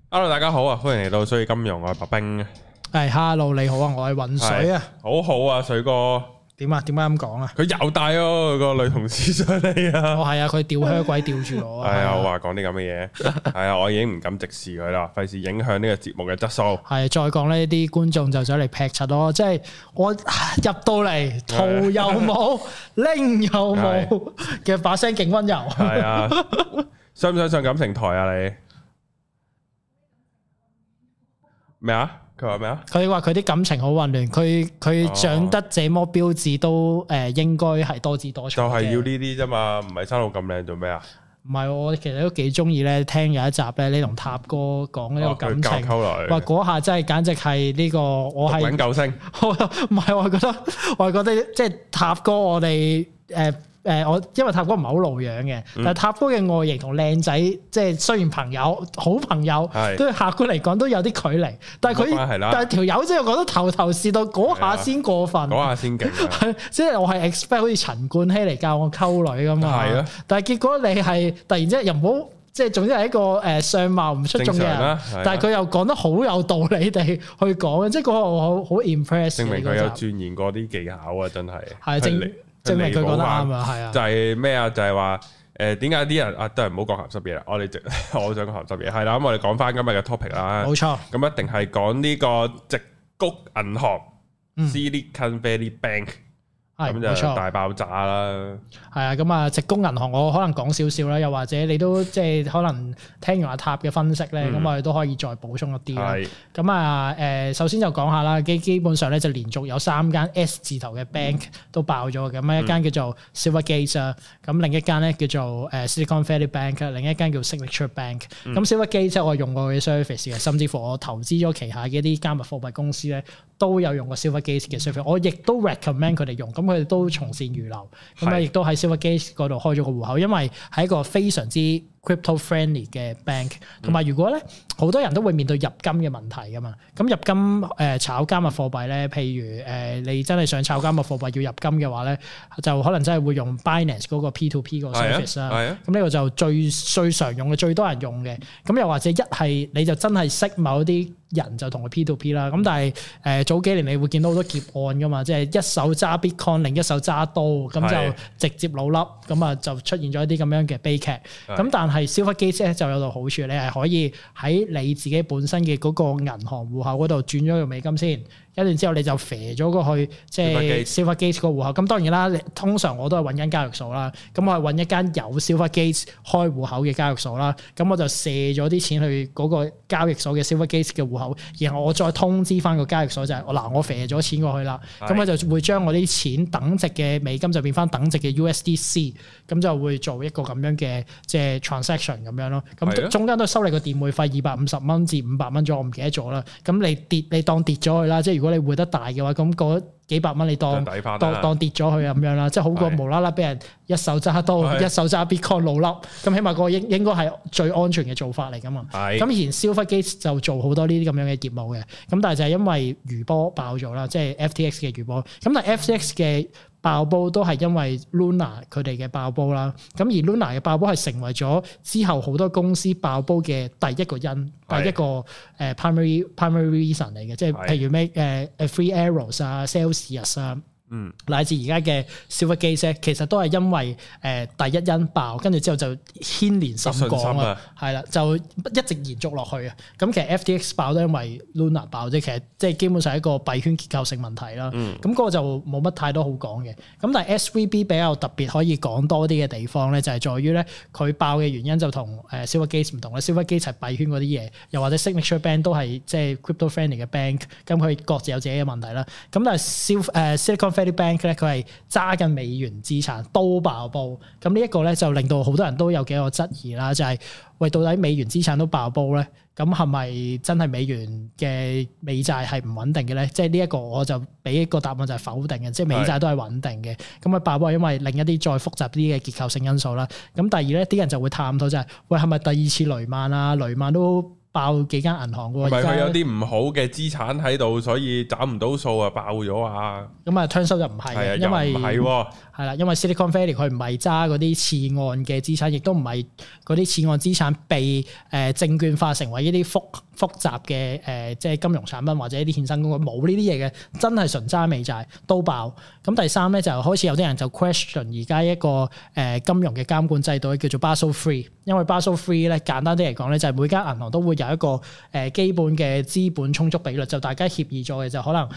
Hello， 大家好啊，歡迎嚟到水與金融，我係白兵。 係 Hello， 你好啊，我係渾水啊。 好好啊，水哥。 點啊？點解咁講啊？ 佢又帶咗個女同事上嚟啊！ 哦，係啊，佢吊靴鬼吊住我。 係啊，我話講啲咁嘅嘢。係啊，我已經唔敢直視佢啦，費事影響呢個節目嘅質素。 係再講呢啲觀眾就走嚟劈柒咯，即係我入到嚟圖又冇，拎又冇嘅把聲勁溫柔。 係啊，想唔想上感情台啊？你咩啊？佢話咩啊？佢話佢啲感情好混亂，佢長得這麼標緻都應該係多姿多彩。就係要呢啲啫嘛，唔係生到咁靚做咩啊？唔係，我其實都幾中意咧，聽有一集咧，你同塔哥講呢個感情，話嗰下真係簡直係呢個我係滾救星。唔係，我係覺得即係塔哥我哋我因為塔哥唔係好露樣嘅，但係塔哥嘅外形同靚仔，即係雖然朋友好朋友，都客觀嚟講都有啲距離。但係但係條友真係覺得頭是道嗰下先過分，嗰下先勁。即係我係 expect 好似陳冠希嚟教我溝女噶嘛，但係結果你係突然之間又唔好，即係總之係一個相貌唔出眾嘅人，但係佢又講得好有道理地去講，即係嗰個我好 impress。證明佢有鑽研過啲技巧啊！真係係證明佢講得啱啊，係啊，就係咩啊？就係話點解啲人都係唔好講鹹濕嘢啦？我想講鹹濕嘢係啦，咁我哋講翻今日嘅 topic 啦，冇錯，咁一定係講呢個矽谷銀行 Silicon Valley Bank。咁就大爆炸啦！係啊，咁啊，矽谷銀行我可能講少少啦，又或者你都即係可能聽完阿塔嘅分析咧，咁我哋都可以再補充一啲啦。咁啊首先就講下啦，基本上咧就連續有3間 S 字頭嘅 bank 都爆咗嘅，咁一間叫做 Silvergate 啊，咁另一間咧叫做Silicon Valley Bank， 另一間叫 Signature Bank。咁 Silvergate 我用過佢嘅 service 嘅，甚至乎我投資咗旗下嘅一啲加密貨幣公司咧，都有用過 Silvergate 嘅 service， 我亦都 recommend 佢哋用。咁佢哋都從善如流，咁啊亦都喺 Silvergate 嗰度開咗個戶口，因為係一個非常之 crypto friendly 嘅 bank。同埋如果咧好多人都會面對入金嘅問題噶嘛，咁入金炒加密貨幣咧，譬如你真係想炒加密貨幣要入金嘅話咧，就可能真係會用 Binance 嗰個 P2P 個 service 啦。咁呢個就最常用嘅，最多人用嘅。咁又或者一係你就真係識某啲人就同佢 P2P 啦。咁但係早幾年你會見到好多劫案噶嘛，即係一手揸 Bitcoin，另一手揸刀，咁就直接老笠，咁啊就出現咗一啲咁樣嘅悲劇。咁但係 Silvergate 咧就有個好處，你係可以喺你自己本身嘅嗰個銀行戶口嗰度轉咗個美金先，一段之後你就飛咗過去即係 Silvergate 個戶口。咁當然啦，通常我都係揾緊交易所啦，咁我係揾一間有 Silvergate 開戶口嘅交易所啦，咁我就射咗啲錢去嗰個交易所嘅 Silvergate 嘅戶口，然後我再通知翻個交易所就係我飛咗錢過去啦，咁我就會將我啲錢等值嘅美金就變翻等值嘅 USDC， 咁就會做一個咁樣嘅即係 transaction 咁樣咯。咁中間都收你個電匯費250蚊至500蚊左右，我唔記得咗啦。咁你當跌咗去啦，即係如果你匯得大嘅話，咁嗰幾百蚊你當跌咗去咁樣啦，即係好過無啦啦俾人一手揸刀，一手揸 Bitcoin 老笠，咁起碼個應該係最安全嘅做法嚟噶嘛。咁以前 Silvergate 就做好多呢啲咁樣嘅業務嘅，咁但係就係因為餘波爆咗啦，即係 FTX 嘅餘波。咁但係 FTX 嘅爆煲都係因為 Luna 佢哋嘅爆煲啦，咁而 Luna 嘅爆煲係成為咗之後好多公司爆煲嘅第一個第一個primary reason 嚟嘅，即係譬如咩Free Arrows 啊、Celsius 啊。乃至而家嘅 Silvergate 其實都係因為第一因爆，跟住之後就牽連甚廣啊，係啦，就一直延續落去啊。咁其實 FTX 爆都因為 Luna 爆啫，其實即係基本上係一個幣圈結構性問題啦。咁嗰個就冇乜太多好講嘅。咁但係 SVB 比較特別可以講多啲嘅地方咧，就係在於咧佢爆嘅原因就同Silvergate 唔同啦。Silvergate 係幣圈嗰啲嘢，又或者 Signature Bank 都係即係 crypto friendly 嘅 bank， 咁佢各自有自己嘅問題啦。咁但係Silicon Valley Bank 咧，佢係揸緊美元資產都爆煲，咁呢一個咧就令到好多人都有幾個質疑啦，就係喂，到底美元資產都爆煲咧，咁係咪真係美元嘅美債係唔穩定嘅咧？即係呢一個我就俾一個答案就係否定嘅，即係美債都係穩定嘅。咁啊爆煲係因為另一啲再複雜啲嘅結構性因素啦。咁第二咧，啲人就會探討就係喂，係咪第二次雷曼啊？雷曼都爆幾間銀行喎。 唔係佢有啲唔好嘅資產喺度，所以找唔到數啊，爆咗啊。 咁啊，turn out就唔係嘅，因為係啦，因為 Silicon Valley 佢唔係揸嗰啲次按嘅資產，亦都唔係嗰啲次按資產被證券化成為一啲複雜嘅即係金融產品或者一啲衍生工具，冇呢啲嘢嘅，真係純揸美債都爆。咁第三咧就開始有啲人就 question 而家一個金融嘅監管制度叫做 Basel III，因為 Basel III 咧簡單啲嚟講咧就係每間銀行都會有一個基本嘅資本充足比率，就大家協議咗嘅就可能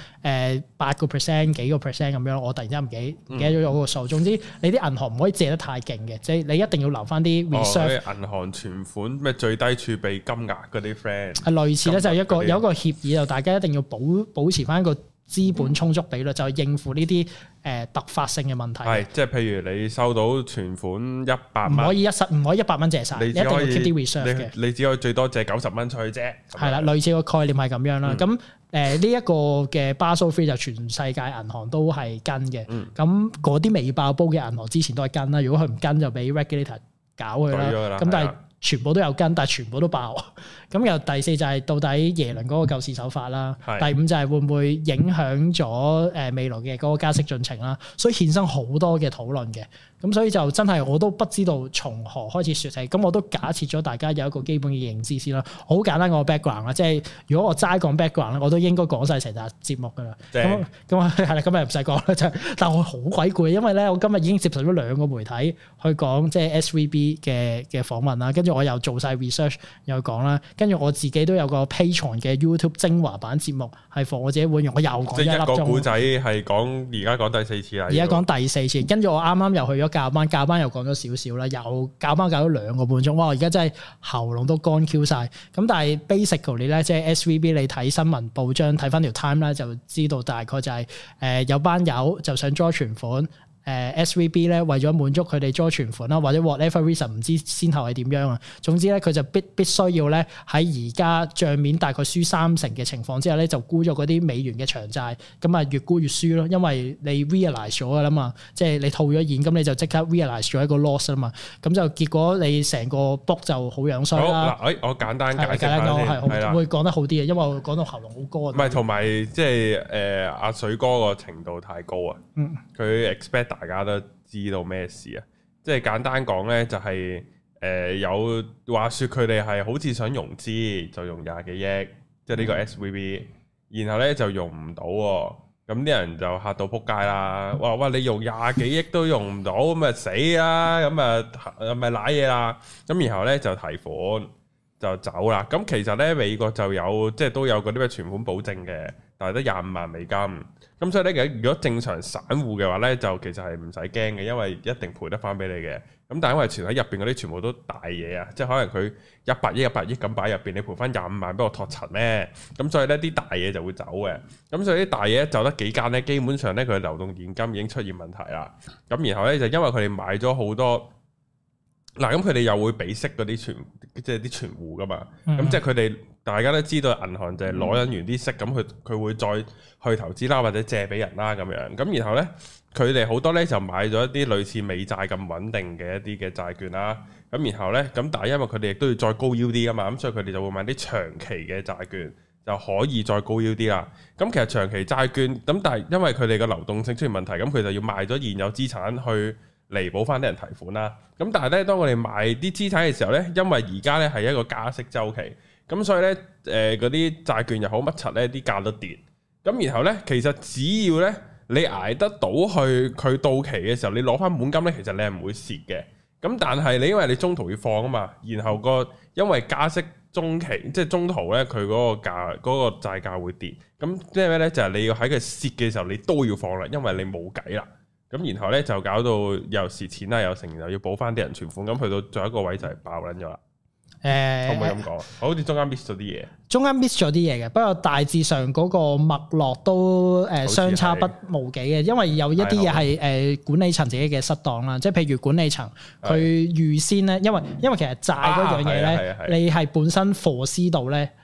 8%幾個 percent 咁樣，我突然之間唔記得咗有個數。總之你啲銀行唔可以借得太勁嘅，即係你一定要留翻啲 reserve。 銀行存款咩最低儲備金額嗰啲 friend 係類似咧，就係有一個協議，就大家一定要保持翻一個資本充足比率，就係應付呢啲突發性嘅問題。係即係譬如你收到存款100蚊， 唔可以100蚊借晒，你一定要 keep 啲 reserve 嘅。 你只可以最多借90蚊出去啫。係啦，類似個概念係咁樣啦。咁呢一個嘅 Basel III就全世界銀行都係跟嘅。咁嗰啲未爆煲嘅銀行之前都係跟啦。如果佢唔跟就俾 regulator 搞佢啦。咁但係全部都有跟，但係全部都爆。咁又第四就係到底耶倫嗰個救市手法啦。第五就係會唔會影響咗未來嘅嗰個加息進程啦。所以衍生好多嘅討論嘅。咁所以就真係我都不知道從何開始說起。咁我都假設咗大家有一個基本嘅認知先啦。好簡單個 background 啦，即係如果我齋講 background 咧，我都應該講晒成集節目噶啦。咁係啦，今日唔使講啦，就但我好鬼攰，因為咧我今日已經接受咗2個媒體去講即係 SVB 嘅訪問啦，跟住我又做晒 research 又講啦，跟住我自己都有個 Patreon 嘅 YouTube 精華版節目係放我自己會用，我又講1粒鐘。即係一個故仔係講而家講第4次啦。而家講第4次，跟住我啱啱又去咗教班又講咗少少啦，又教班教咗2個半鐘，哇！而家真係喉嚨都乾 Q 晒。咁但係 basically 咧，即係 SVB 你睇新聞報章睇翻條 time 咧，就知道大概就係有班友就想 draw 存款。SVB 咧為咗滿足佢哋 draw 存款啦，或者 whatever reason 唔知先後係點樣啊。總之咧，佢就必須要咧喺而家帳面大概輸30%嘅情況之下咧，就沽咗嗰啲美元嘅長債，咁啊越沽越輸咯。因為你 realize 咗噶啦嘛，即係你套咗現，咁你就即刻 realize 咗一個 loss 啦嘛。咁就結果你成個 book 就好樣衰啦。 好嗱，我簡單解釋下先， 會講得好啲嘅，因為我講到喉嚨好乾。 唔係，同埋即係阿水哥個程度太高啊。佢 expect。大家都知道咩事啊？即係簡單講咧，就係有話說佢哋係好似想融資，就用20幾億，即係呢個 SVB，然後咧就用唔到，咁啲人就嚇到撲街啦！哇，你用20幾億都用唔到，咁咪死啦！咁咪瀨嘢啦！咁然後咧就提款就走啦。咁其實咧美國就有即係都有嗰啲咩存款保證嘅，但係得25萬美金。咁所以咧，如果正常散戶嘅話咧，就其實係唔使驚嘅，因為一定賠得翻俾你嘅。咁但係因為存喺入邊嗰啲全部都大嘢啊，即係可能佢100億咁擺入邊，你賠翻25萬俾我托塵咩？咁所以咧啲大嘢就會走嘅。咁所以啲大嘢走得幾間咧，基本上咧佢流動現金已經出現問題啦。咁然後咧就因為佢哋買咗好多，嗱咁佢哋又會俾息嗰啲即係啲存戶噶嘛。咁即係佢哋大家都知道銀行就係攞緊完啲息，咁佢會再去投資啦，或者借俾人啦咁樣。咁然後咧，佢哋好多咧就買咗一啲類似美債咁穩定嘅一啲嘅債券啦。咁然後咧，咁但係因為佢哋亦都要再高 yield 噶嘛，咁所以佢哋就會買啲長期嘅債券，就可以再高 yield啦。咁其實長期債券咁，但係因為佢哋嘅流動性出現問題，咁佢就要賣咗現有資產去彌補翻啲人提款啦。咁但係咧，當我哋賣啲資產嘅時候咧，因為而家咧係一個加息週期，咁所以咧嗰啲債券又好乜柒咧，啲價都跌。咁然後咧，其實只要咧你捱得到去佢到期嘅時候，你攞翻本金咧，其實你係唔會蝕嘅。咁但係你因為你中途要放啊嘛，然後因為加息中期即係中途咧，佢嗰個債價會跌。咁即係咩咧？就係你要喺佢蝕嘅時候，你都要放啦，因為你冇計啦。咁然後咧就搞到又蝕錢啦，又成又要補翻啲人存款，咁去到最後一個位就係爆撚咗啦。可唔可以咁講？好似中間 miss 咗啲嘢，中間 miss 咗啲嘢嘅，不過大致上嗰個脈絡都相差不無幾嘅，因為有一啲嘢係管理層自己嘅失當啦，即係譬如管理層佢預先咧，因為其實債嗰樣嘢咧，你係本身 foresee 到咧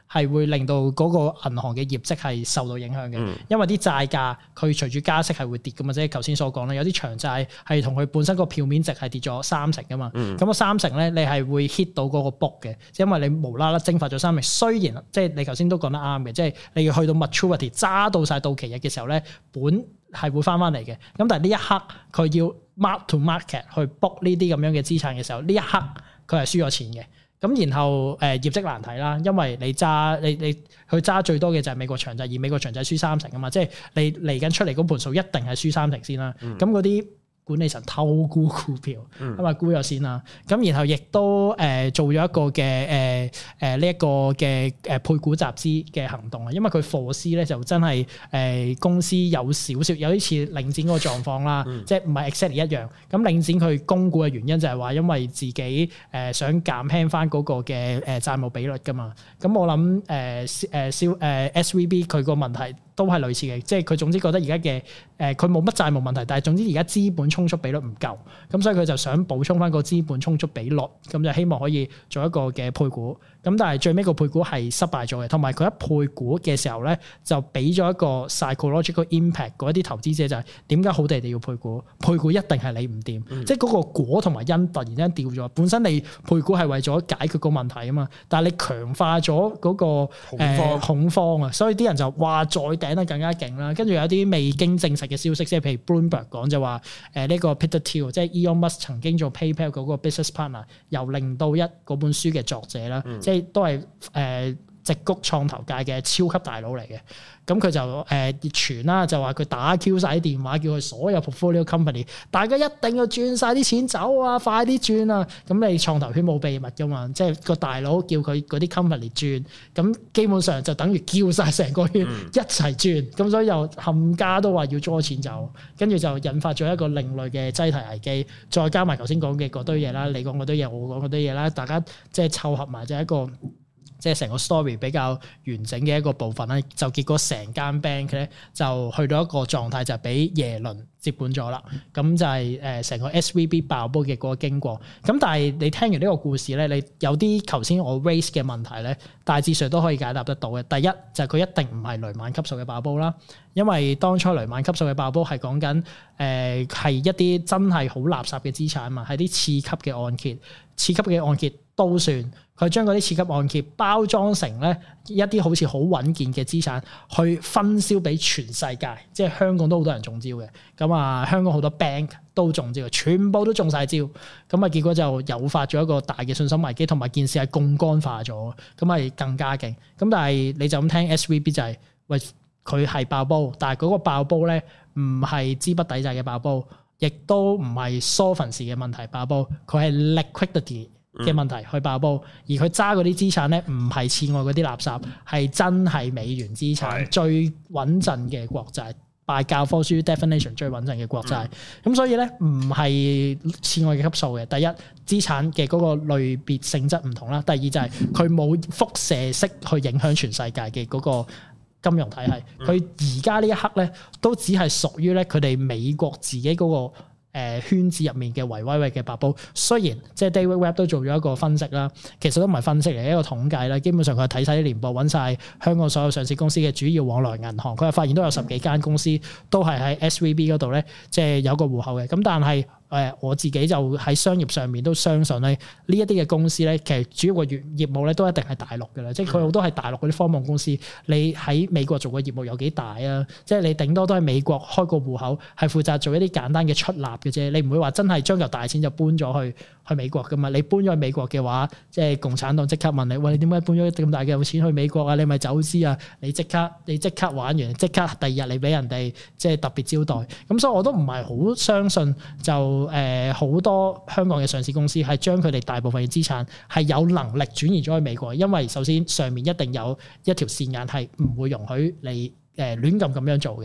係會令到嗰個銀行嘅業績係受到影響嘅，因為啲債價佢隨住加息係會跌噶嘛，即係頭先所講啦，有啲長債係同佢本身個票面值係跌咗30%噶嘛，咁個30%咧你係會 hit 到嗰個 book 嘅，因為你無啦啦蒸發咗30%，雖然即係你頭先都講得啱嘅，即係你要去到 maturity 揸到晒到期日嘅時候咧，本係會翻嚟嘅，咁但係呢一刻佢要 mark to market 去 book 呢啲咁樣嘅資產嘅時候，呢一刻佢係輸咗錢嘅。咁然後業績難睇啦，因為你去揸最多嘅就係美國長債，而美國長債輸30%啊嘛，即係你嚟緊出嚟嗰盤數一定係輸30%先啦。咁嗰啲管理層偷沽股票，咁啊沽咗先啦。咁然後亦都做咗一個嘅呢一個嘅配股集資嘅行動啊，因為佢 foresee 咧就真係公司有少少有啲似領展嗰個狀況啦，即係唔係 exactly 一樣。咁領展佢供股嘅原因就係話因為自己想減輕翻嗰個嘅債務比率噶嘛。咁我諗SVB 佢個問題都係類似嘅，即係佢總之覺得而家嘅佢冇乜債務問題，但係總之而家資本充足比率唔夠，咁所以佢就想補充翻個資本充足比率，咁就希望可以做一個嘅配股。咁但係最尾個配股係失敗咗嘅，同埋佢一配股嘅時候咧，就俾咗一個 psychological impact 嗰啲投資者就係點解好地地要配股？配股一定係你唔掂，即係嗰個果同埋因突然間掉咗。本身你配股係為咗解決個問題啊嘛，但係你強化咗嗰個恐慌啊，所以啲人就話再頂得更加勁啦。跟住有啲未經證實嘅消息，即係譬如 Bloomberg 講就話呢個 Peter Thiel 即係 Elon Musk 曾經做 PayPal 嗰個 business partner， 由0到1嗰本書嘅作者啦，即係都係矽谷創投界嘅超級大佬嚟嘅。咁佢就傳啦，就話佢打 Q 晒啲電話，叫佢所有 portfolio company， 大家一定要轉晒啲錢走啊，快啲轉啊！咁你創投圈冇秘密噶嘛，即係個大佬叫佢嗰啲 company 轉，咁基本上就等於叫晒成個圈一齊轉，咁所以又冚家都話要攞錢走，跟住就引發咗一個另類嘅擠提危機，再加埋頭先講嘅嗰堆嘢啦，你講嗰堆嘢，我講嗰堆嘢啦，大家即係湊合埋就係一個。即係成個 story 比較完整嘅一個部分咧，就結果成間 bank 咧就去到一個狀態，就係俾耶倫接管咗啦。咁就係成個 SVB 爆煲嘅嗰個經過。咁但係你聽完呢個故事咧，你有啲頭先我 raise 嘅問題咧，大致上都可以解答得到嘅。第一就係佢一定唔係雷曼級數嘅爆煲啦，因為當初雷曼級數嘅爆煲係講緊係一啲真係好垃圾嘅資產嘛，係啲次級嘅按揭，次級嘅按揭都算。佢將嗰啲次級按揭包裝成咧一啲好似好穩健嘅資產，去分銷俾全世界，即係香港都好多人中招嘅。咁啊，香港好多 bank 都中招嘅，全部都中晒招。咁啊，結果就誘發咗一個大嘅信心危機，同埋件事係槓桿化咗，咁係更加勁。咁但係你就咁聽 SVB 就係、是、喂佢係爆煲，但係嗰個爆煲咧唔係資不抵債嘅爆煲，亦都唔係 solvency 嘅問題爆煲，佢係 liquidity嘅問題去爆煲，而佢揸嗰啲資產咧，唔係次外嗰啲垃圾，係真係美元資產最穩陣嘅國債，拜教科書 definition 最穩陣嘅國債。咁所以咧，唔係次外嘅級數嘅。第一，資產嘅嗰個類別性質唔同啦；第二就係佢冇輻射式去影響全世界嘅嗰個金融體系。佢而家呢一刻咧，都只係屬於咧佢哋美國自己嗰個圈子入面嘅維威嘅爆煲，雖然即係 David Webb 都做咗一個分析啦，其實都唔係分析嚟，一個統計啦。基本上佢係睇晒啲年報，揾晒香港所有上市公司嘅主要往來銀行，佢係發現都有10幾間公司都係喺 SVB 嗰度咧，即係有個戶口嘅。咁但係我自己就喺商業上面都相信咧，呢一啲嘅公司咧，其實主要嘅業務咧都一定係大陸嘅啦，即係佢好多係大陸嗰啲科網公司。你喺美國做嘅業務有幾大啊？即係你頂多都喺美國開個戶口，係負責做一啲簡單嘅出納嘅啫。你唔會話真係將嚿大錢就搬咗去美國噶嘛？你搬咗去美國嘅話，即係共產黨即刻問你：喂，你點解搬咗咁大嘅錢去美國啊？你咪走資啊？你即刻玩完，即刻第二日你俾人哋即係特別招待。咁所以我都唔係好相信就。好多香港嘅上市公司係將佢哋大部分嘅資產係有能力轉移咗去美國，因為首先上面一定有一條線眼係唔會容許你亂咁樣做嘅。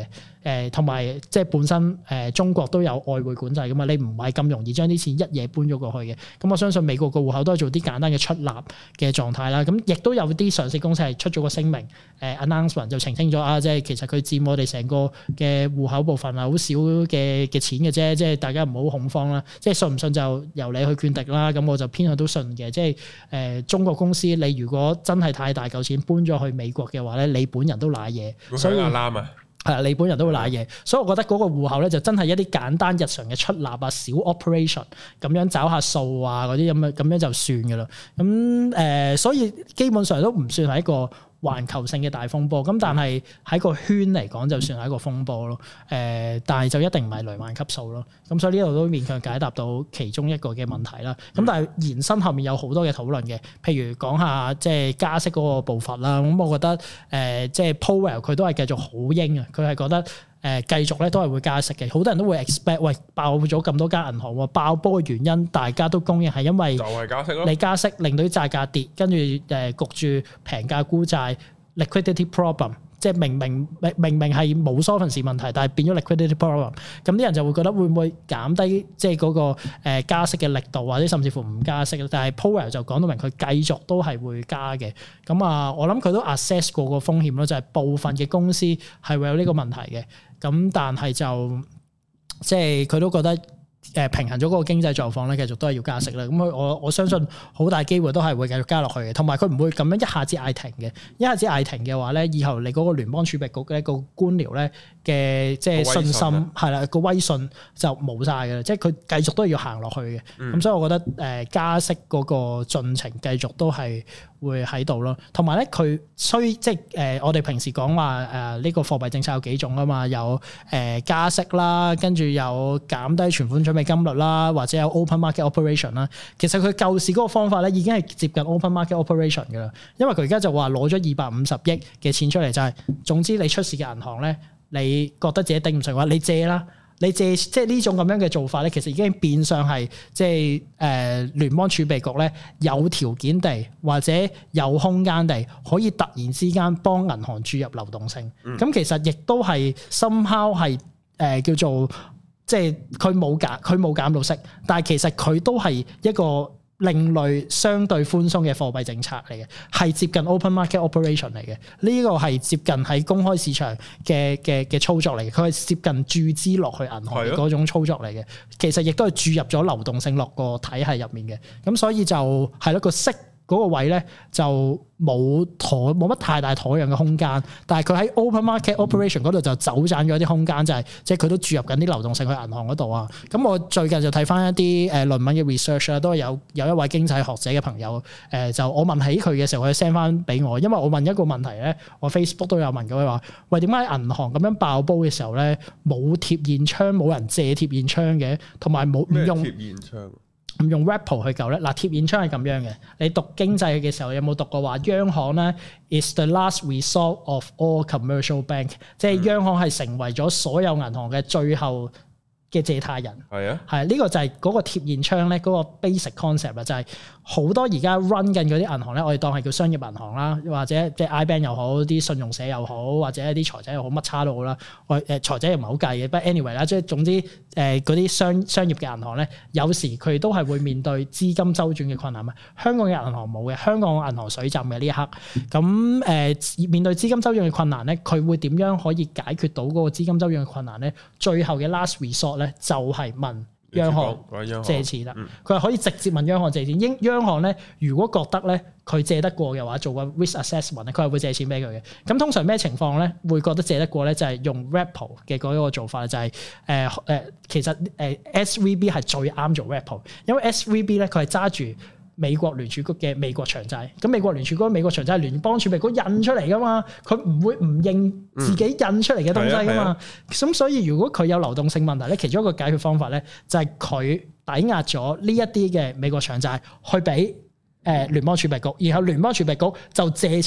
同埋即係本身中國都有外匯管制噶嘛，你唔係咁容易將啲錢一夜搬咗過去嘅。咁我相信美國個戶口都係做啲簡單嘅出納嘅狀態啦。咁亦都有啲上市公司係出咗個聲明，announcement 就澄清咗啊，即係其實佢佔我哋成個嘅戶口部分係好少嘅錢嘅啫，即係大家唔好恐慌啦。即係信唔信就由你去決定啦。咁我就偏向都信嘅，即係中國公司你如果真係太大嚿錢搬咗去美國嘅話咧，你本人都賴嘢，所以啱啊。係你本人都會賴嘢，所以我覺得嗰個戶口咧就真係一啲簡單日常嘅出納啊、小 operation 咁樣找下數啊嗰啲咁樣就算㗎啦。咁所以基本上都唔算係一個環球性嘅大風波，咁但係喺個圈嚟講就算係一個風波咯。但係就一定唔係雷曼級數咯。咁所以呢度都勉強解答到其中一個嘅問題啦。咁但係延伸後面有好多嘅討論嘅，譬如講下即係加息嗰個步伐啦。咁我覺得即係 Powell 佢都係繼續好鷹啊，佢係覺得繼續咧都係會加息嘅。好多人都會 expect 喂，爆咗咁多間銀行喎，爆波嘅原因大家都公認係因為就係加息咯，你加息令到啲債價跌，跟住焗住平價沽債 liquidity problem， 即係明明係冇 solvency 問題，但係變咗 liquidity problem， 咁啲人就會覺得會唔會減低即係嗰個加息嘅力度，或者甚至乎唔加息。但係 Powell 就講到明佢繼續都係會加嘅。咁啊，我諗佢都 assess 過個風險咯，就係部分嘅公司係會有呢個問題嘅。咁但係就即係佢都覺得平衡咗嗰個經濟狀況咧，繼續都係要加息啦。咁我相信好大機會都係會繼續加落去嘅。同埋佢唔會咁樣一下子嗌停嘅，一下子嗌停嘅話咧，以後你嗰個聯邦儲備局嘅一個官僚咧嘅即係信心係啦，個威信就冇晒嘅啦。即係佢繼續都要行落去嘅。咁所以我覺得加息嗰個進程繼續都係會喺度咯，同埋咧佢即係我哋平時講話呢個貨幣政策有幾種啊嘛，有加息啦，跟住有減低存款準備金率啦，或者有 open market operation 啦。其實佢舊時嗰個方法咧已經係接近 open market operation 㗎啦，因為佢而家就話攞咗250億嘅錢出嚟，就係總之你出事嘅銀行咧，你覺得自己頂唔順嘅話，你借啦。你借即係呢種咁樣嘅做法咧，其實已經變相係即係聯邦儲備局咧有條件地或者有空間地可以突然之間幫銀行注入流動性。咁其實亦都係 somehow 係叫做即係佢冇減到息，但係其實佢都係一個另類相對寬鬆嘅貨幣政策嚟嘅，係接近 open market operation 嚟嘅。呢個係接近喺公開市場嘅操作嚟嘅，佢係接近注資落去銀行嘅嗰種操作嚟嘅。其實亦都係注入咗流動性落個體系入面嘅。咁所以就係咯，個息嗰個位咧就冇乜太大妥協嘅空間，但係佢喺 open market operation 嗰度就走盞咗啲空間，就係即係佢都注入緊啲流動性去銀行嗰度啊。咁我最近就睇翻一啲論文嘅 research 啦，都有一位經濟學者嘅朋友就我問起佢嘅時候，佢 send 翻俾我，因為我問一個問題咧，我 Facebook 都有問佢話：喂，點解銀行咁樣爆煲嘅時候咧冇貼現窗，冇人借貼現窗嘅，同埋冇唔用貼現窗？唔用 repo 去救咧，嗱貼現窗係咁樣嘅。你讀經濟嘅時候有冇讀過話央行咧 is the last resort of all commercial bank， 即係央行係成為咗所有銀行嘅最後嘅借貸人。係啊，係呢個就係嗰個貼現窗咧，嗰個 basic concept 啦，就係好多而家 run 緊嗰啲銀行咧，我哋當係叫商業銀行啦，或者即係 IBank 又好，啲信用社又好，或者一啲財仔又好，乜叉都好啦。財仔又唔係好計嘅，不過 anyway 啦，即係總之嗰啲商業嘅銀行咧，有時佢都係會面對資金周轉嘅困難啊。香港嘅銀行冇嘅，香港銀行水浸嘅呢一刻。咁面對資金周轉嘅困難咧，佢會點樣可以解決到嗰個資金周轉嘅困難咧？最後嘅 last resort 咧就係問央行借錢啦，佢係可以直接問央行借錢。央行咧，如果覺得咧佢借得過嘅話，做個 risk assessment 咧，佢係會借錢俾佢嘅。咁通常咩情況咧會覺得借得過咧？就係用 repo 嘅嗰個做法，就係其實SVB 係最啱做 repo， 因為 SVB 咧佢係揸住美國聯儲局嘅美國長債，咁美國聯儲局美國長債係聯邦儲備局印出嚟噶嘛，佢唔會唔認自己印出嚟嘅東西噶嘛，咁所以如果佢有流動性問題咧，其中一個解決方法咧就係佢抵押咗呢一啲嘅美國長債去俾聯邦儲備局，然後聯邦儲備局就借錢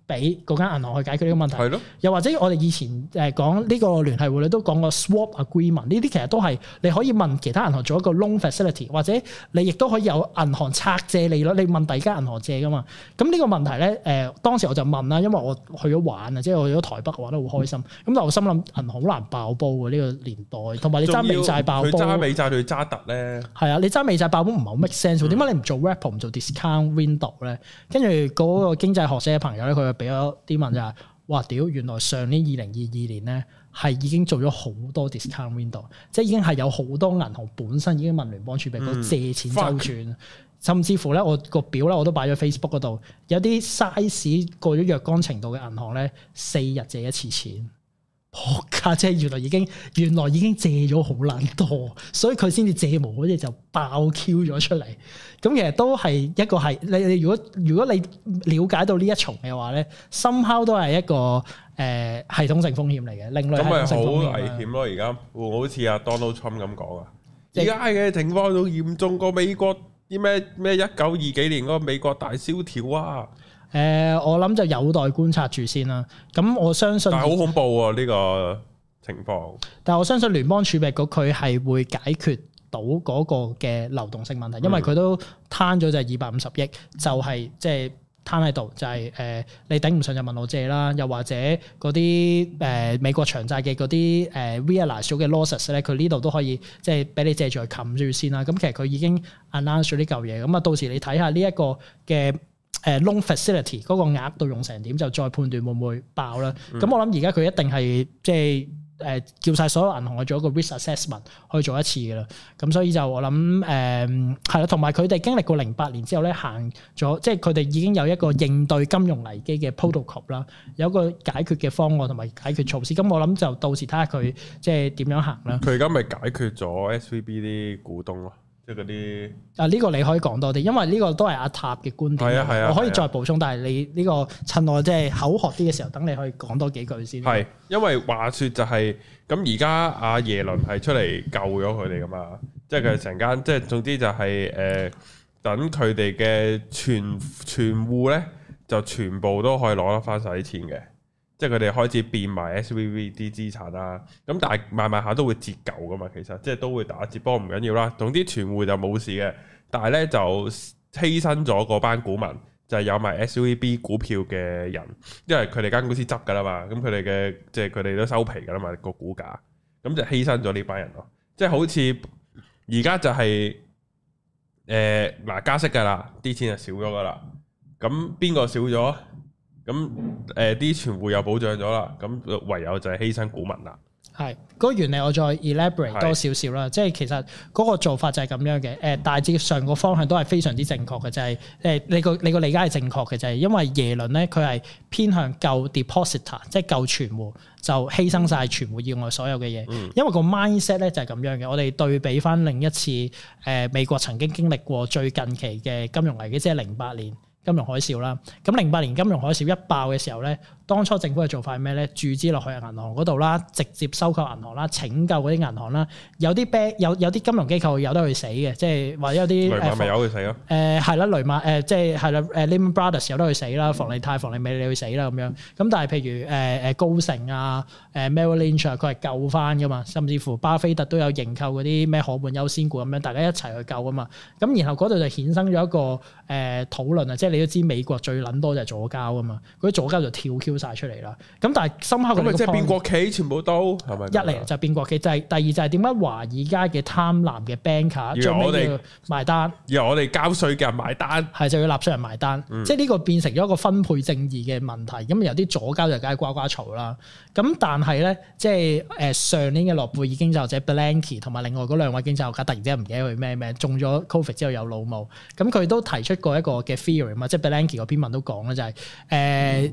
俾嗰間銀行去解決呢個問題。 係咯。 又或者我哋以前講呢個聯繫匯率都講過 swap agreement， 呢啲其實都係你可以問其他銀行做一個 loan facility， 或者你亦都可以有銀行拆借利率，你問第二間銀行借噶嘛。咁呢個問題咧，當時我就問啦，因為我去咗玩啊，即係我去咗台北玩得好開心。咁但係我心諗銀行好難爆煲嘅呢個年代，同埋你揸美債爆煲， 佢揸美債對揸特咧。係啊，你揸美債爆煲唔係好 make sense，點解你唔做 repo 唔做 discount window 咧？跟住嗰個經濟學者嘅朋友咧，佢就俾咗啲問就係：哇屌！原來上年2022年咧係已經做咗好多 discount window， 即係已經係有好多銀行本身已經問聯邦儲備局借錢周轉，甚至乎咧我個表咧我都擺咗 Facebook 嗰度，有啲 size 過咗若干程度嘅銀行咧，4日借一次錢。仆街，即係原來已經借咗好撚多，所以佢先至借無嗰隻就爆 Q 咗出嚟。咁其實都係一個係你如果你了解到呢一重嘅話咧，somehow都係一個系統性風險嚟嘅，另類系統性風險。咁咪好危險咯！而家好似阿 Donald Trump 咁講啊，而家嘅情況仲嚴重過美國啲咩1920幾年嗰個美國大蕭條啊！ 我諗就有待觀察住先啦。咁我相信， 但係好恐怖喎呢個情況。 但係我相信聯邦儲備局佢係會解決到嗰個嘅流動性問題，因為佢都攤咗就係250億，就係即係攤喺度，就係你頂唔順就問我借啦，又或者嗰啲美國長債嘅嗰啲realize 咗嘅 losses 咧，佢呢度都可以即係俾你借住去冚住先啦。咁其實佢已經 announce 咗呢嚿嘢，咁啊到時你睇下呢一個嘅loan facility 嗰個額度用成點，就再判斷會唔會爆啦。咁我諗而家佢一定係即係叫晒所有銀行去做一個 risk assessment 去做一次嘅啦。咁所以就我諗係啦，同埋佢哋經歷過08年之後咧，行咗即係佢哋已經有一個應對金融危機嘅 protocol 啦，有一個解決嘅方案同埋解決措施。咁我諗就到時睇下佢即係點樣行啦。 佢而家咪解決咗 SVB 啲股東咯。即係嗰啲呢個你可以講多啲，因為呢個都係阿塔嘅觀點。 係啊， 我可以再補充，但係你呢個趁我即係口渴啲嘅時候，等你可以講多幾句先。 係，因為話說就係咁，而家阿耶倫係出嚟救咗佢哋噶嘛，即係佢成間，即係總之就係等佢哋嘅存戶咧，就全部都可以攞得翻晒啲錢嘅。即係佢哋開始變埋 SVB 啲資產啦，咁但係慢慢下都會折舊噶嘛，其實即係都會打折，不過唔緊要啦。總之存戶就冇事嘅，但係咧就犧牲咗嗰班股民，就係有埋 SVB 股票嘅人，因為佢哋間公司執噶啦嘛，咁佢哋嘅即係佢哋都收皮噶啦嘛個股價，咁就犧牲咗呢班人咯。即係好似而家就係嗱加息噶啦，啲錢就少咗噶啦，咁邊個少咗？咁啲存戶又保障咗啦，咁唯有就係犧牲股民啦。 係嗰個原理，我再 elaborate 多少少啦。即係其實嗰個做法就係咁樣嘅。大致上個方向都係非常之正確嘅，就係你個理解係正確嘅，就係因為耶倫咧佢係偏向救 depositor， 即係救存戶，就犧牲晒存戶以外所有嘅嘢。因為個 mindset 咧就係咁樣嘅。我哋對比翻另一次美國曾經經歷過最近期嘅金融危機，即係08年。金融海嘯啦，咁08年金融海嘯一爆嘅時候咧，當初政府嘅做法係咩咧？注資落去銀行嗰度啦，直接收購銀行啦，拯救嗰啲銀行啦。有啲有啲金融機構有得去死嘅，即係或者有啲雷曼咪有去死咯。 係啦，雷曼即係係啦，Lehman Brothers 有得去死啦，房利泰、房利美你去死啦咁樣。咁但係譬如高盛啊、Merrill Lynch 啊，佢係救翻噶嘛，甚至乎巴菲特都有認購嗰啲咩可換優先股咁樣，大家一齊去救啊嘛。咁然後嗰度就衍生咗一個討論啊，即係你都知美國最撚多就係左膠啊嘛，嗰啲左膠就跳 Q 晒出嚟啦。咁但係深刻咁咪即係變國企全部都係咪？ 一嚟就變國企，就係第二就係點解華爾街嘅貪婪嘅 banker 最尾要埋單， 由我哋交稅嘅人埋單， 係就要納稅人埋單，即係呢個變成咗一個分配正義嘅問題。咁有啲左膠就梗係呱呱嘈啦。咁但係咧，即係上年嘅諾貝爾經濟學者 Bernanke 同埋另外嗰兩位經濟學家突然之間唔記得佢咩中咗 Covid 之後有腦霧，咁佢都提出過一個嘅 theory 嘛，即係 Bernanke 嗰篇文都講咧，就係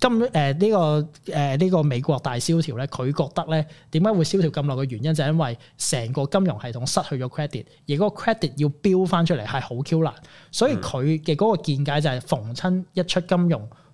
呢個美國大蕭條咧，佢覺得咧點解會蕭條咁耐嘅原因就係因為成個金融系統失去咗 credit， 而嗰個 credit 要標翻出嚟係好 Q 難，所以佢嘅嗰個見解就係逢親一出金融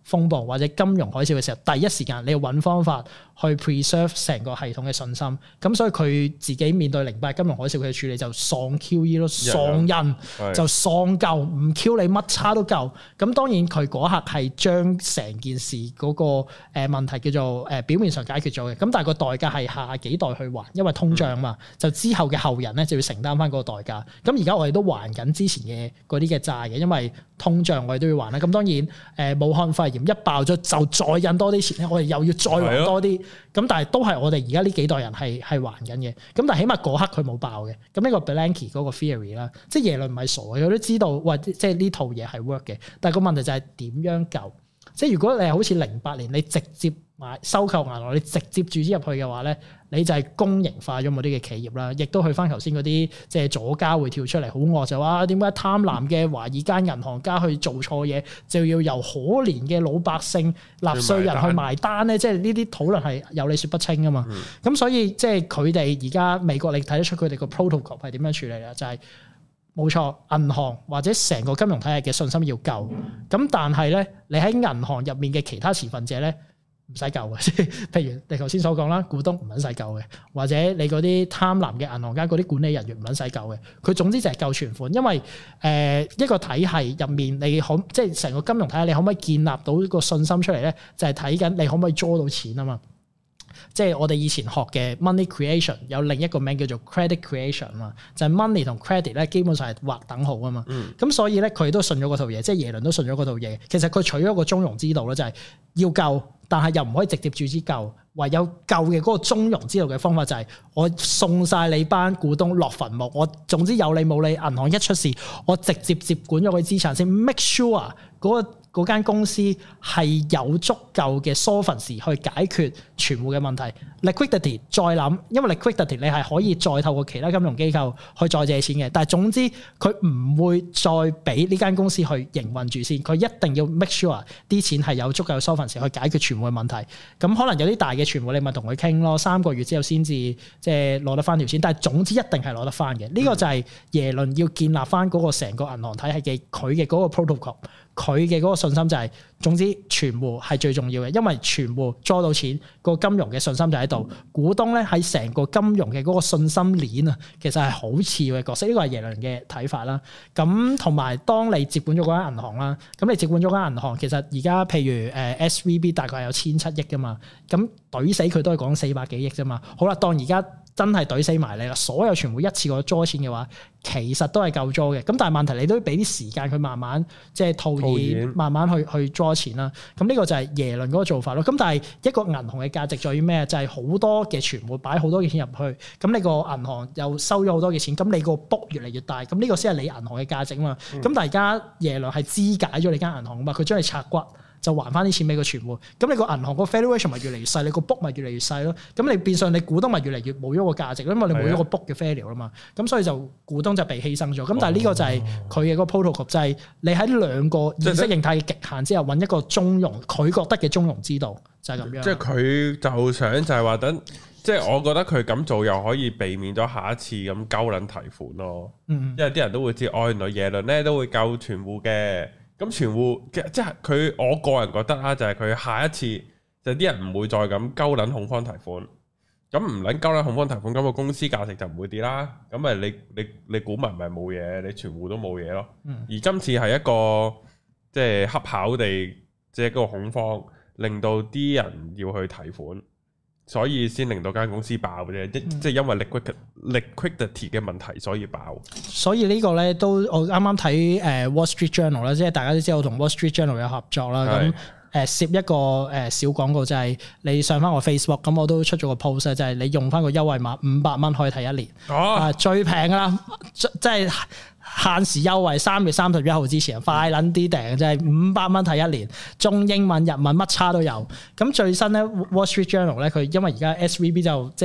風暴或者金融海嘯嘅時候，第一時間你要揾方法去 preserve 成個系統嘅信心。咁所以佢自己面對08金融海嘯佢嘅處理就喪 QE 咯，喪人就喪夠，唔 Q 你乜差都夠。咁當然佢嗰刻係將成件事嗰個誒問題叫做誒表面上解決咗嘅。咁但係個代價係下幾代去還，因為通脹嘛，就之後嘅後人咧就要承擔翻嗰個代價。咁而家我哋都還緊之前嘅嗰啲嘅債嘅，因為通脹我哋都要還啦。咁當然武漢肺炎一爆咗就再印多啲錢咧，我哋又要再還多啲。咁但係都係我哋而家呢幾代人係還緊嘅。咁但係起碼嗰刻佢冇爆嘅。咁呢個 Bernanke 嗰個 theory 啦，即係耶倫唔係傻嘅，佢都知道喂，即係呢套嘢係 work 嘅。但係個問題就係點樣救？即係如果你係好似08年你直接收購銀行，你直接注資入去嘅話咧，你就係公營化咗某啲嘅企業啦，亦都去翻頭先嗰啲即係左膠會跳出嚟好惡就話點解貪婪嘅華爾街銀行家去做錯嘢，就要由可憐嘅老百姓納稅人去埋單咧？即係呢啲討論係有理說不清噶嘛。咁所以即係佢哋而家美國你睇得出佢哋個 protocol 係點樣處理啦？就係冇錯，銀行或者成個金融體系嘅信心要夠。咁但係咧，你喺銀行入面嘅其他持份者咧，唔使救嘅，即係譬如你頭先所講啦，股東唔撚使救嘅，或者你嗰啲貪婪嘅銀行家嗰啲管理人員唔撚使救嘅，佢總之就係救存款，因為一個體系入面你即係成個金融體系你可唔可以建立到個信心出嚟咧？就係睇緊你可唔可以draw到錢啊嘛。即係我哋以前學嘅 money creation 有另一個名叫做 credit creation 啊嘛，就係 money 同 credit 咧基本上係劃等號啊嘛。咁所以咧佢都信咗嗰套嘢，即係耶倫都信咗嗰套嘢。其實佢取咗個中庸之道咧，就係要救，但係又唔可以直接注資救，唯有救嘅嗰個中庸之道嘅方法就係我送晒你班股東落墳墓，我總之有理冇理，銀行一出事，我直接接管咗佢資產先 ，make sure 嗰間公司係有足夠嘅 solvency 去解決存戶嘅問題 ，liquidity 再諗，因為 liquidity 你係可以再透過其他金融機構去再借錢嘅，但係總之佢唔會再俾呢間公司去營運住先，佢一定要 make sure 啲錢係有足夠嘅 solvency 去解決存戶嘅問題。咁可能有啲大嘅存戶你咪同佢傾咯，3個月之後先至即係攞得翻條錢，但係總之一定係攞得翻嘅。呢個就係耶倫要建立翻嗰個成個銀行體系嘅佢嘅嗰個 protocol。佢嘅嗰個信心就係，總之存戶係最重要嘅，因為存戶攞到錢，個金融嘅信心就喺度。股東咧喺成個金融嘅嗰個信心鏈啊，其實係好次要嘅角色。呢個係耶倫嘅睇法啦。咁同埋當你接管咗嗰間銀行啦，咁你接管咗間銀行，其實而家譬如SVB 大概係有1,700億噶嘛，咁懟死佢都係講400幾億啫嘛。好啦，當而家真係懟死埋你啦，所有存戶一次過抓錢嘅話，其實都係夠抓嘅。咁但係問題你都要俾啲時間佢慢慢即係套現，慢慢去抓錢啦。咁呢個就係耶倫嗰個做法咯。咁但係一個銀行嘅價值在於咩？就係好多嘅存戶擺好多嘅錢入去，咁你個銀行又收咗好多嘅錢，咁你個 book 越嚟越大，咁呢個先係你銀行嘅價值啊嘛。咁但係而家耶倫係肢解咗你間銀行啊嘛，佢將你拆骨，就還翻啲錢俾個存戶，咁你個銀行個 valuation 咪越嚟越細，你個 book 咪越嚟越細咯。咁你變相你股東咪越嚟越冇咗個價值，因為你冇咗個 book 嘅 value 啊嘛。咁所以就股東就被犧牲咗。咁但係呢個就係佢嘅嗰個 protocol，就係你喺兩個意識形態嘅極限之後揾一個中庸，佢覺得嘅中庸之道就係咁樣。 即係佢就想就係話等，即係我覺得佢咁做又可以避免咗下一次咁鳩撚提款咯。因為啲人都會知，原來耶倫咧都會救存戶嘅。咁存戶即係佢，我個人覺得啦，就係佢下一次就啲人唔會再咁鳩撚恐慌提款，咁唔撚鳩撚恐慌提款，咁個公司價值就唔會跌啦。咁咪你股民咪冇嘢，你存戶都冇嘢咯。而今次係一個即係恰巧地，即係嗰個恐慌，令到啲人要去提款，所以先令到間公司爆嘅啫。即係因為 liquidity 嘅問題，所以爆。所以呢個咧都我啱啱睇Wall Street Journal 啦，即係大家都知道我同 Wall Street Journal 有合作啦。咁攝一個小廣告就係你上翻我 Facebook，咁我都出咗個 post 就係你用翻個優惠碼500蚊可以睇1年。最平㗎啦，即係限時優惠，3月31號之前快撚啲訂，就係500蚊睇1年，中英文、日文乜叉都有。咁最新咧 Wall Street Journal 咧，佢因為而家 SVB 就即係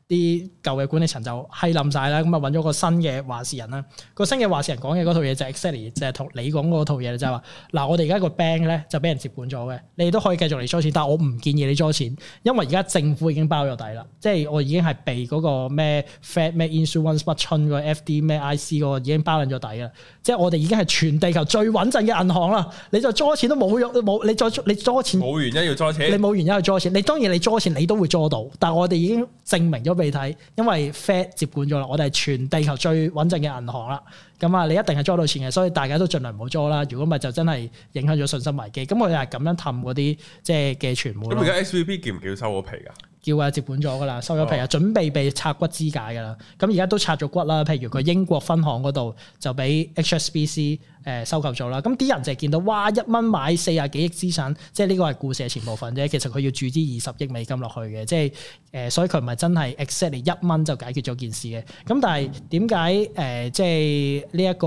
啲舊嘅管理層就閪冧晒啦，咁啊揾咗個新嘅話事人啦。個新嘅話事人講嘅嗰套嘢就係 exactly 就係同你講嗰套嘢，就係話嗱，我哋而家個 bank 咧就俾人接管咗嘅，你哋都可以繼續嚟攞錢，但係我唔建議你攞錢，因為而家政府已經包咗底啦，即係我已經係被嗰個咩 Fed 咩 Insurance 乜春個 FD 咩 IC 嗰個已經包緊咗底啦，即係我哋已經係全地球最穩陣嘅銀行啦，你就攞錢都冇用，冇你攞錢冇原因要攞錢， 你冇原因去攞錢，你當然你攞錢你都會攞到，但係我哋已經證明咗俾你睇，因為 Fed 接管咗啦，我哋係全地球最穩陣嘅銀行啦。咁啊，你一定係捉到錢嘅，所以大家都盡量唔好捉啦。如果唔係就真係影響咗信心危機。咁我哋係咁樣氹嗰啲即係嘅傳媒。 咁而家 SVB 叫唔叫收咗皮㗎？ 叫啊，接管咗噶啦，收咗皮啊，準備被拆骨肢解噶啦。咁而家都拆咗骨啦。譬如佢英國分行嗰度就俾 HSBC 收購咗啦。咁啲人就係見到哇，1蚊買40幾億資產，即係呢個係故事嘅前部分啫。其實佢要注資20億美金落去嘅，即係所以佢唔係真係 exactly 1蚊就解決咗件事嘅。咁但係點解即係呢一個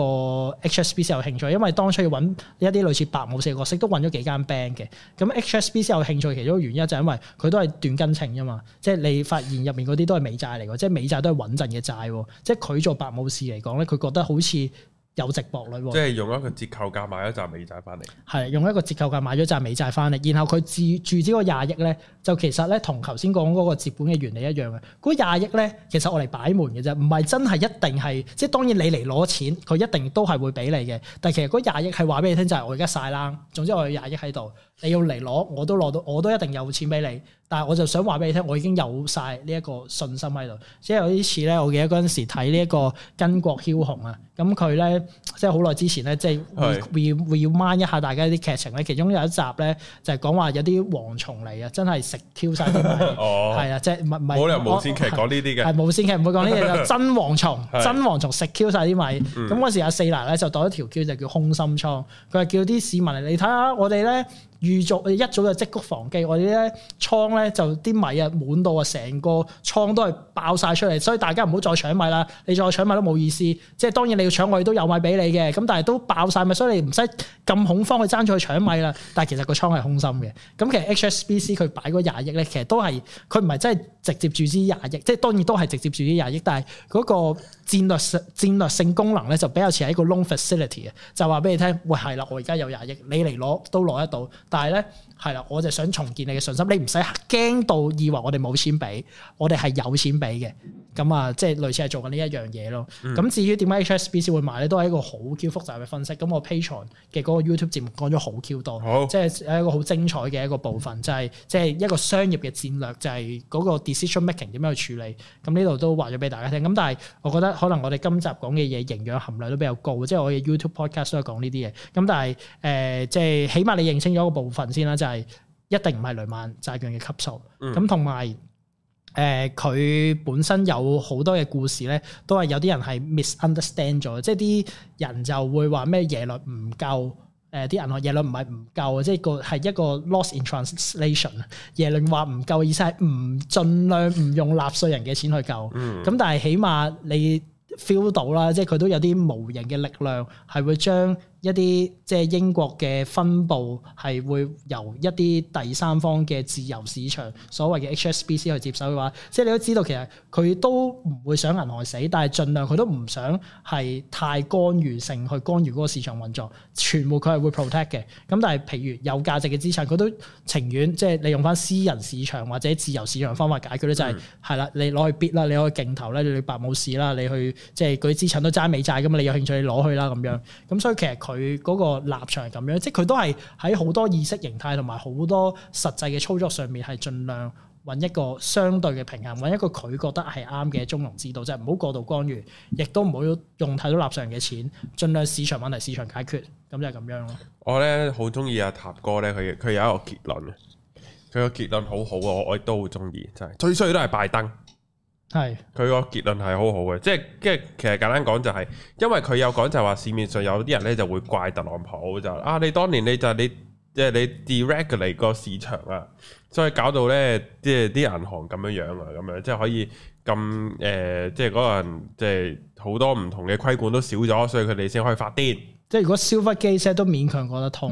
HSBC 有興趣？因為當初要揾一啲類似白武士嘅角色，都揾咗幾間 bank 嘅。咁 HSBC 有興趣其中一個原因就係因為佢都係斷根稱嘛，即係你發現入面嗰啲都係美債嚟嘅，即係美債都係穩陣嘅債，即係佢做白武士嚟講咧，佢覺得好似有值博率， 即係用一個折扣價買咗紮美債翻嚟， 係用一個折扣價買咗紮美債翻嚟，然後佢注資嗰20億咧，就其實咧同頭先講嗰個接管嘅原理一樣嘅，嗰20億咧其實我嚟擺門嘅啫，唔係真係一定係，即係當然你嚟攞錢，佢一定都係會俾你嘅，但係其實嗰20億係話俾你聽就係我而家晒冷，總之我有20億喺度，你要嚟攞我都攞到，我都一定有錢俾你。但係我就想話俾你聽，我已經有晒呢一個信心喺度。即係有啲似咧，我記得嗰陣時睇呢一個巾幗梟雄啊，咁佢咧即係好耐之前咧，即係會要掹一下大家啲劇情咧。其中有一集咧就係講話有啲蝗蟲嚟啊，真係食 Q 晒啲米，係啊，即係唔係冇理由無線劇講呢啲嘅， 係無線劇唔會講呢啲嘢，就真蝗蟲，真蝗蟲食 Q 晒啲米。咁嗰時阿四奶咧就攞一條 Q 就叫空心倉，佢係叫啲市民嚟，你睇下我哋咧。預早一早就積谷防饑，我哋咧倉咧就啲米啊滿到啊，成個倉都係爆晒出嚟，所以大家唔好再搶米啦！你再搶米都冇意思。即係當然你要搶我哋都有米俾你嘅，咁但係都爆晒米，所以你唔使咁恐慌去爭取去搶米啦。但係其實個倉係空心嘅。咁其實 HSBC 佢擺嗰20億咧，其實都係佢唔係真係直接注資20億，即係當然都係直接注資20億，但係嗰個戰略性功能咧就比較似係一個 loan facility 嘅，就話俾你聽，喂係啦，我而家有20億，你嚟攞都攞得到。但係咧，係啦，我就想重建你嘅信心，你唔使驚到以為我哋冇錢俾，我哋係有錢俾嘅。咁啊，即係類似係做緊呢一樣嘢咯。咁至於點解 HSBC 會買咧，都係一個好 Q 複雜嘅分析。咁我 Patreon 嘅嗰個 YouTube 節目講咗好 Q 多，即係一個好精彩嘅一個部分，就係即係一個商業嘅戰略，就係嗰個 decision making 點樣去處理。咁呢度都話咗俾大家聽。咁但係我覺得可能我哋今集講嘅嘢營養含量都比較高，即係我嘅 YouTube podcast 都係講呢啲嘢。咁但係即係起碼你認清咗個部分先啦，就係一定唔係雷曼債券嘅級數。咁同埋佢本身有好多嘅故事咧，都係有啲人係 misunderstand 咗，即係啲人就會話咩耶倫唔夠，啲銀行耶倫唔係唔夠，即係個係一個 loss in translation。耶倫話唔夠意思係唔盡量唔用納稅人嘅錢去救，咁但係起碼你 feel 到啦，即係佢都有啲無形嘅力量係會將一啲即係英國嘅分部係會由一啲第三方嘅自由市場所謂嘅 HSBC 去接手嘅話，即係你都知道其實佢都唔會想銀行死，但係盡量佢都唔想係太干預性去干預嗰個市場運作，全部佢係會 protect 嘅。咁但係譬如有價值嘅資產，佢都情願即係你用翻私人市場或者自由市場方法解決咧，就係係啦，你攞去 bid 啦，你攞去競投咧，你白武士啦，你去即係嗰啲資產都揸美債㗎嘛，你有興趣你攞去啦咁樣。咁所以其實佢嗰個立場係咁樣，即係佢都係喺好多意識形態同埋好多實際嘅操作上面係盡量揾一個相對嘅平衡，揾一個佢覺得係啱嘅中庸之道，即係唔好過度干預，亦都唔好用太多納稅人嘅錢，盡量市場問題市場解決，咁就係咁樣咯。 我咧好中意阿塔哥咧，佢有一個結論嘅，佢個結論好好啊，我亦都好中意，真係最衰都係拜登。係佢個結論係好好嘅，即係其實簡單講就係，因為佢有講就係話市面上有啲人咧就會怪特朗普就你當年你即係你 deregulate 個市場啊，所以搞到咧即係啲銀行咁樣啊，咁樣即係可以咁即係嗰個人即係好多唔同嘅規管都少咗，所以佢哋先可以發癲。 即係如果 Silvergate 都勉強講得通。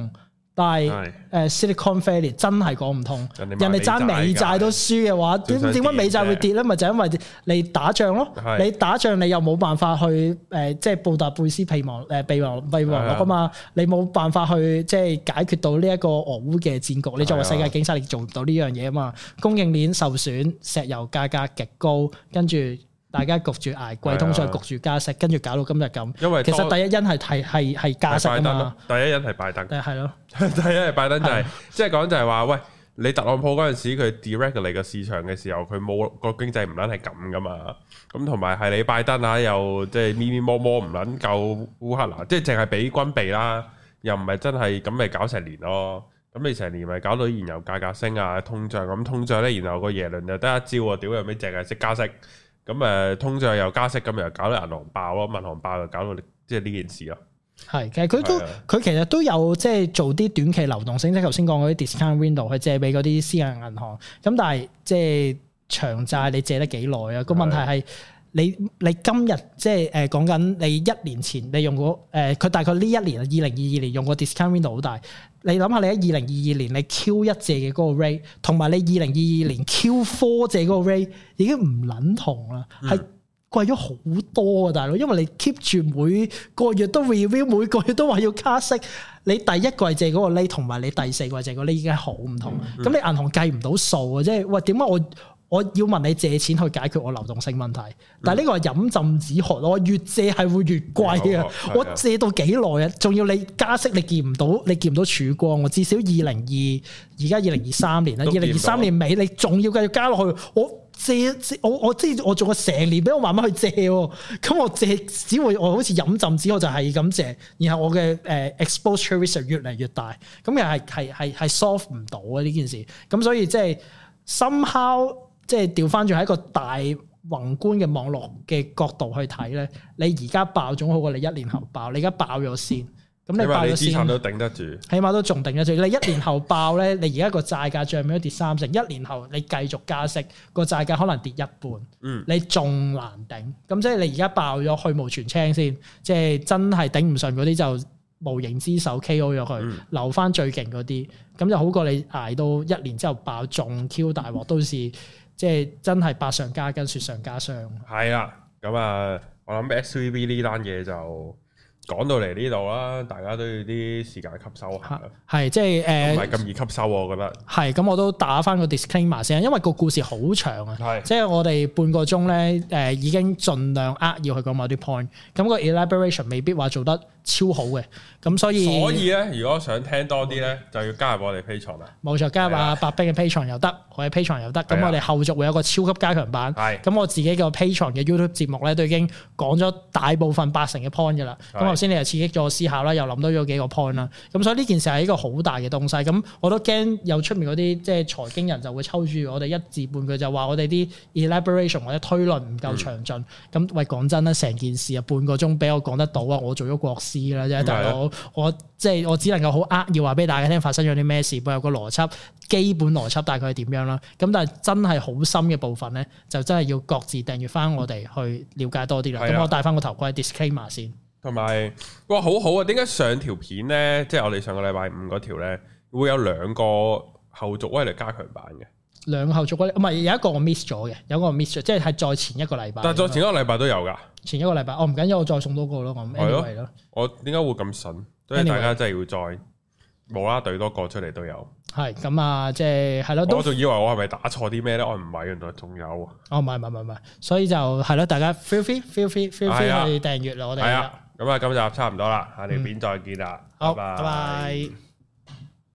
但係Silicon Valley 真係講唔通，人哋揸美債都輸嘅話，點解美債會跌咧？咪就因為你打仗咯，你打仗你又冇辦法去即係布達佩斯備忘錄啊嘛，你冇辦法去即係解決到呢一個俄烏嘅戰局，你作為世界警察你做唔到呢樣嘢啊嘛，供應鏈受損，石油價格極高，跟住。大家焗住捱貴通脹，焗住加息，跟住搞到今日咁。因為其實第一因係加息啊嘛。 第一因係拜登。 係咯。 第一係拜登就係，即係講就係話，喂，你特朗普嗰陣時佢 deregulate 個市場嘅時候，佢冇個經濟唔撚係咁噶嘛。咁同埋係你拜登啊，又即係咪咪摸摸唔撚夠烏克蘭，即係淨係俾軍備啦，又唔係真係咁咪搞成年咯。咁你成年咪搞到燃油價格升啊，通脹咁通脹咧，然後個耶倫就得一招喎，屌有咩淨係識加息。咁通脹又加息，咁又搞到銀行爆咯，銀行爆就搞到即係呢件事咯。係，其實佢其實都有即係做啲短期流動性，即係頭先講嗰啲 discount window 去借俾嗰啲私人銀行。咁但係即係長債你借得幾耐啊？個問題係你今日即係講緊你1年前你用過佢大概呢一年2022年用個 discount window 好大。你諗下你喺2022年你 Q1 借嘅嗰個 rate， 同埋你2022年 Q4 借嗰個 rate 已經唔撚同啦，係貴咗好多啊，大佬！因為你 keep 住每個月都 review， 每個月都話要加息。你第一季借嗰個 rate 同埋你第四季借嗰個 rate 已經係好唔同。咁你銀行計唔到數啊，即係喂點解我要問你借錢去解決我流動性問題？但係呢個係飲鴆止渴咯，我越借係會越貴啊！我借到幾耐啊？仲要你加息，你見唔到曙光。我至少而家2023年啦，2023年尾你仲要繼續加落去，我知我仲有成年俾我慢慢去借，咁我借只會我好似飲鴆止渴就係咁借，然後我嘅exposure risk 越嚟越大，咁又係 solve 唔到啊呢件事。咁所以即係 somehow。即係調翻轉喺一個大宏觀嘅網絡嘅角度去睇咧，你而家爆總好過你1年後爆。你而家爆咗先，咁你爆咗先，資產都頂得住，起碼都仲頂得住。你1年後爆咧，你而家個債價漲咗跌30%，1年後你繼續加息，個債價可能跌一半，你仲難頂。咁即係你而家爆咗去蕪存菁先，即係真係頂唔順嗰啲就無形之手 KO 咗佢，留翻最勁嗰啲，咁就好過你捱到1年之後爆仲 Q 大鑊，都是。即係真係百上加斤，雪上加霜。係啊，咁啊，我諗 SVB 呢單嘢就講到嚟呢度啦，大家都要啲時間吸收下。係即係唔係咁易吸收，我覺得。係咁，我都打翻個 disclaimer 先，因為個故事好長啊。係，即係我哋半個鐘咧，已經盡量要去講某啲 point，咁個 elaboration 未必話做得超好嘅，咁所以咧，如果想聽多啲咧，就要加入我哋 Patreon啦。冇錯，加入阿白兵嘅 Patreon 又得，我嘅 Patreon 又得。咁我哋後續會有個超級加強版。係。咁我自己個 Patreon 嘅 YouTube 節目咧，都已經講咗大部分80%嘅 point 嘅啦。咁頭先你又刺激咗我思考啦，又諗到咗幾個 point 啦。咁所以呢件事係一個好大嘅東西。咁我都驚有出面嗰啲即係財經人就會抽住我哋一字半句，就話我哋啲 elaboration 或者推論唔夠詳盡。咁喂，講真啦，成件事啊半個鐘俾我講得到啊，我做咗國師啦啫，大佬，我即係我只能夠好扼要話俾大家聽發生咗啲咩事，背後個邏輯基本邏輯大概係點樣啦。咁但係真係好深嘅部分咧，就真係要各自訂閱翻我哋去了解多啲啦。咁我戴翻個頭盔 disclaimer 先。同埋哇，好好啊！點解上條片咧，即係我哋上個禮拜5嗰條咧，會有2個後續威力加強版嘅？2個後續威力唔係有一個我 miss 咗嘅，有一個我 miss 咗，即係再前一個禮拜。但係再前一個禮拜都有㗎。前一個禮拜，唔緊要，我再送多個咯。我 anyway 咯。我點解會咁筍？所以大家真係要再無啦啦對多個出嚟都有。係咁啊，即係係咯。我仲以為我係咪打錯啲咩咧？我唔係，原來仲有。唔係，所以就係咯，大家 feel free 去訂閱啦，我哋。係啊，咁啊，今集差唔多啦，下條片再見啦，拜拜。